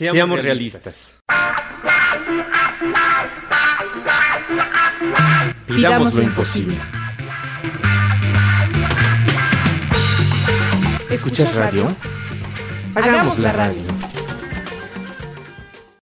Seamos realistas. Pidamos lo imposible. ¿Escuchas radio? Hagamos la radio.